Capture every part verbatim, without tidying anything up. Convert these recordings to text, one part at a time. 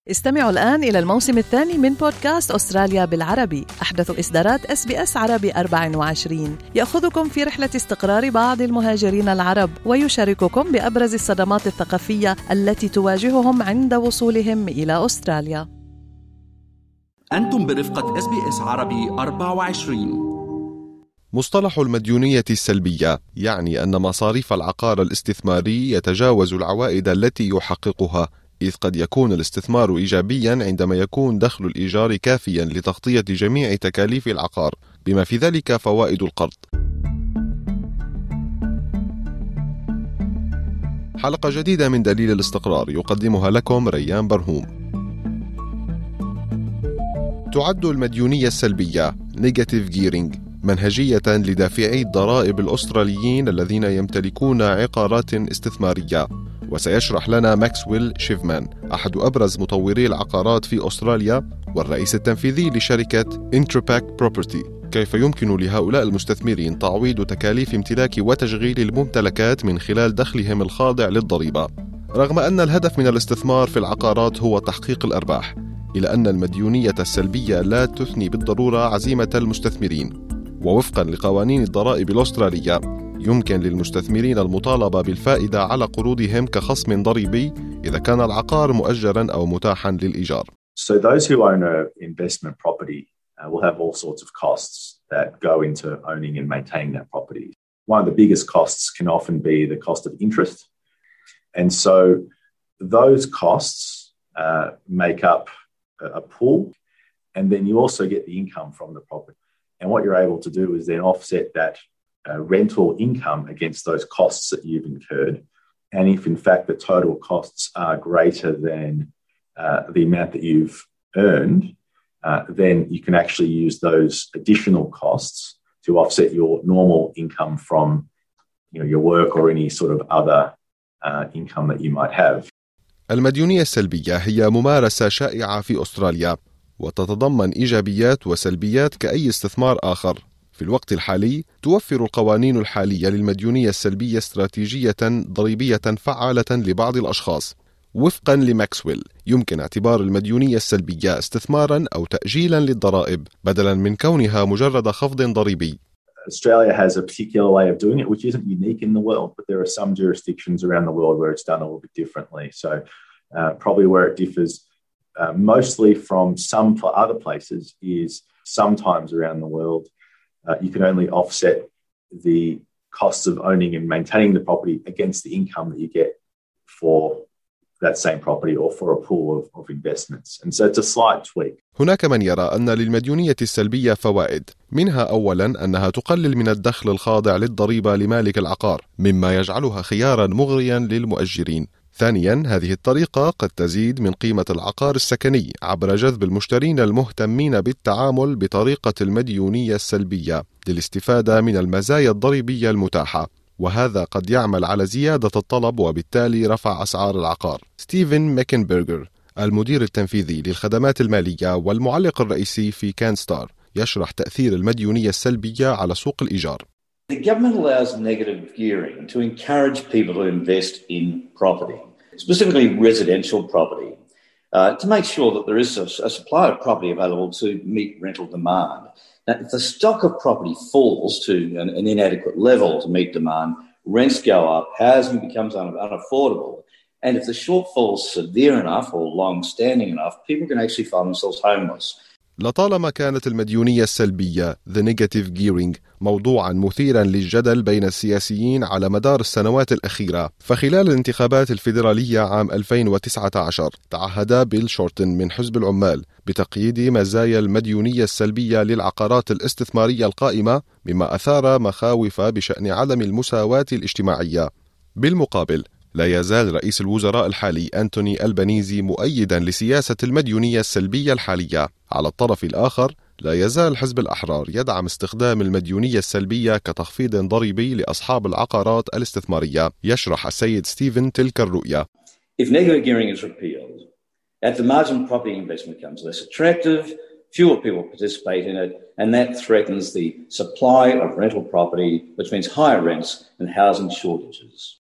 استمعوا الآن إلى الموسم الثاني من بودكاست أستراليا بالعربي، أحدث إصدارات إس بي إس عربي أربعة وعشرين، يأخذكم في رحلة استقرار بعض المهاجرين العرب ويشارككم بأبرز الصدمات الثقافية التي تواجههم عند وصولهم إلى أستراليا. أنتم برفقة إس بي إس عربي أربعة وعشرين. مصطلح المديونية السلبية يعني أن مصاريف العقار الاستثماري يتجاوز العوائد التي يحققها، إذ قد يكون الاستثمار إيجابياً عندما يكون دخل الإيجار كافياً لتغطية جميع تكاليف العقار، بما في ذلك فوائد القرض. حلقة جديدة من دليل الاستقرار يقدمها لكم ريان برهوم. تعد المديونية السلبية Negative Gearing منهجية لدافعي الضرائب الأستراليين الذين يمتلكون عقارات استثمارية، وسيشرح لنا ماكسويل شيفمان أحد أبرز مطوري العقارات في أستراليا والرئيس التنفيذي لشركة انترباك بروبرتي كيف يمكن لهؤلاء المستثمرين تعويض تكاليف امتلاك وتشغيل الممتلكات من خلال دخلهم الخاضع للضريبة. رغم أن الهدف من الاستثمار في العقارات هو تحقيق الأرباح، إلا أن المديونية السلبية لا تثني بالضرورة عزيمة المستثمرين. ووفقا لقوانين الضرائب الأسترالية يمكن للمستثمرين المطالبة بالفائدة على قروضهم كخصم ضريبي إذا كان العقار مؤجرا أو متاحا للإيجار. So those who own an investment property uh, will have all sorts of costs that go into owning and maintaining that property. One of the biggest costs can often be the cost of interest. And so those costs uh, make up a, a pool, and then you also get the income from the property. And what you're able to do is then offset that uh, rental income against those costs that you've incurred. And if in fact the total costs are greater than uh, the amount that you've earned, uh, then you can actually use those additional costs to offset your normal income from, you know, your work or any sort of other uh, income that you might have. المديونية السلبية هي ممارسة شائعة في أستراليا، وتتضمن إيجابيات وسلبيات كأي استثمار آخر. في الوقت الحالي توفر القوانين الحالية للمديونية السلبية استراتيجية ضريبية فعالة لبعض الأشخاص. وفقا لماكسويل يمكن اعتبار المديونية السلبية استثمارا أو تأجيلا للضرائب بدلا من كونها مجرد خفض ضريبي. Australia has a particular way of doing it which isn't unique in the world, but there are some jurisdictions around the world where it's done a little bit differently. So uh, probably where it differs Uh, mostly from some other places is sometimes around the world uh, you can only offset the costs of owning and maintaining the property against the income that you get for that same property or for a pool of, of investments. And so it's a slight tweak. هناك من يرى أن للمديونية السلبية فوائد، منها أولاً أنها تقلل من الدخل الخاضع للضريبة لمالك العقار، مما يجعلها خياراً مغرياً للمؤجرين. ثانياً هذه الطريقة قد تزيد من قيمة العقار السكني عبر جذب المشترين المهتمين بالتعامل بطريقة المديونية السلبية للاستفادة من المزايا الضريبية المتاحة، وهذا قد يعمل على زيادة الطلب وبالتالي رفع أسعار العقار. ستيفن ميكنبرغر المدير التنفيذي للخدمات المالية والمعلق الرئيسي في كانستار يشرح تأثير المديونية السلبية على سوق الإيجار. The government allows negative gearing to encourage people to invest in property, specifically residential property, uh, to make sure that there is a, a supply of property available to meet rental demand. Now, if the stock of property falls to an, an inadequate level to meet demand, rents go up, housing becomes un, unaffordable, and if the shortfall is severe enough or long-standing enough, people can actually find themselves homeless. لطالما كانت المديونية السلبية The Negative Gearing موضوعا مثيرا للجدل بين السياسيين على مدار السنوات الأخيرة، فخلال الانتخابات الفيدرالية عام ألفين وتسعة عشر تعهد بيل شورتن من حزب العمال بتقييد مزايا المديونية السلبية للعقارات الاستثمارية القائمة، مما أثار مخاوف بشأن عدم المساواة الاجتماعية. بالمقابل لا يزال رئيس الوزراء الحالي أنتوني ألبانيزي مؤيدا لسياسة المديونية السلبية الحالية. على الطرف الآخر لا يزال حزب الأحرار يدعم استخدام المديونية السلبية كتخفيض ضريبي لأصحاب العقارات الاستثمارية. يشرح السيد ستيفن تلك الرؤية. If negative gearing is repealed, at the margin property investment becomes less attractive, fewer people participate in it, and that threatens the supply of rental property, which means higher rents and housing shortages.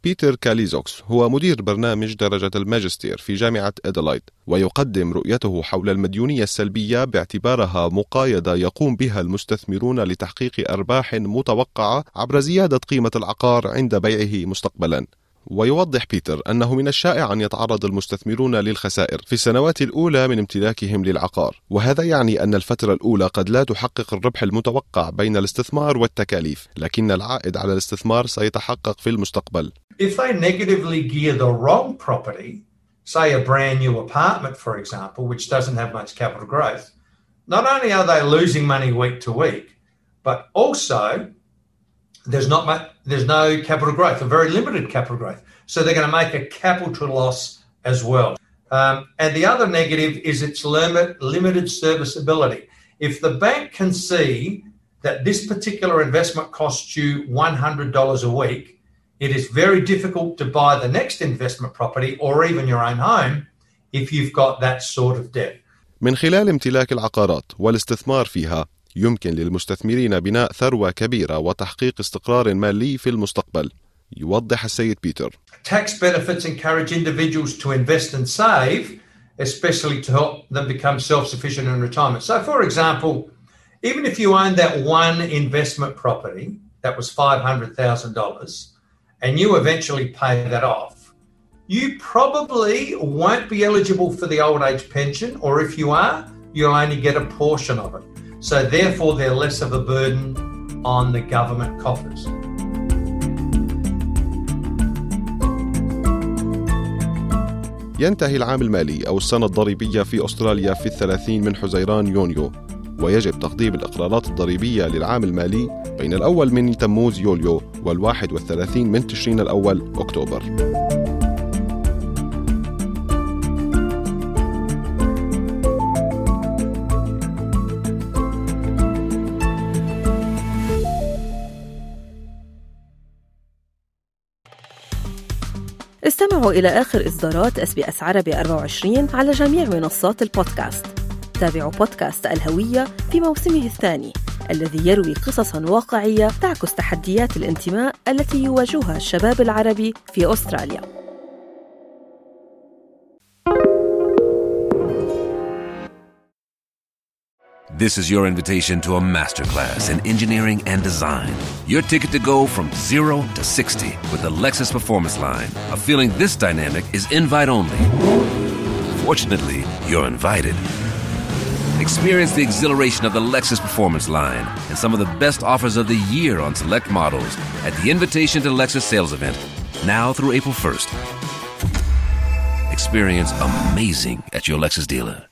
بيتر كاليزوكس هو مدير برنامج درجة الماجستير في جامعة أدلايد، ويقدم رؤيته حول المديونية السلبية باعتبارها مقايضة يقوم بها المستثمرون لتحقيق أرباح متوقعة عبر زيادة قيمة العقار عند بيعه مستقبلا. ويوضح بيتر أنه من الشائع أن يتعرض المستثمرون للخسائر في السنوات الأولى من امتلاكهم للعقار، وهذا يعني أن الفترة الأولى قد لا تحقق الربح المتوقع بين الاستثمار والتكاليف، لكن العائد على الاستثمار سيتحقق في المستقبل. If they negatively gear the wrong property, say a brand new apartment, for example, which doesn't have much capital growth, not only are they losing money week to week, but also there's not much, there's no capital growth, a very limited capital growth. So they're going to make a capital loss as well. Um, and the other negative is its limit, limited serviceability. If the bank can see that this particular investment costs you one hundred dollars a week, it is very difficult to buy the next investment property or even your own home if you've got that sort of debt. من خلال امتلاك العقارات والاستثمار فيها يمكن للمستثمرين بناء ثروة كبيرة وتحقيق استقرار مالي في المستقبل. يوضح السيد بيتر. Tax benefits encourage individuals to invest and save, especially to help them become self-sufficient in retirement. So, for example, even if you owned that one investment property that was five hundred thousand dollars and you eventually pay that off, you probably won't be eligible for the old age pension, or if you are, you'll only get a portion of it. So therefore, they're less of a burden on the government coffers. ينتهي العام المالي أو السنة الضريبية في أستراليا في الثلاثين من حزيران يونيو، ويجب تقديم الإقرارات الضريبية للعام المالي بين الأول من تموز يوليو والواحد والثلاثين من تشرين الأول أكتوبر. استمعوا إلى آخر إصدارات إس بي إس عربي أربعة وعشرين على جميع منصات البودكاست. تابعوا بودكاست الهوية في موسمه الثاني الذي يروي قصصاً واقعية تعكس تحديات الانتماء التي يواجهها الشباب العربي في أستراليا. This is your invitation to a masterclass in engineering and design. Your ticket to go from zero to sixty with the Lexus Performance Line. A feeling this dynamic is invite only. Fortunately, you're invited. Experience the exhilaration of the Lexus Performance Line and some of the best offers of the year on select models at the Invitation to Lexus sales event, now through April first. Experience amazing at your Lexus dealer.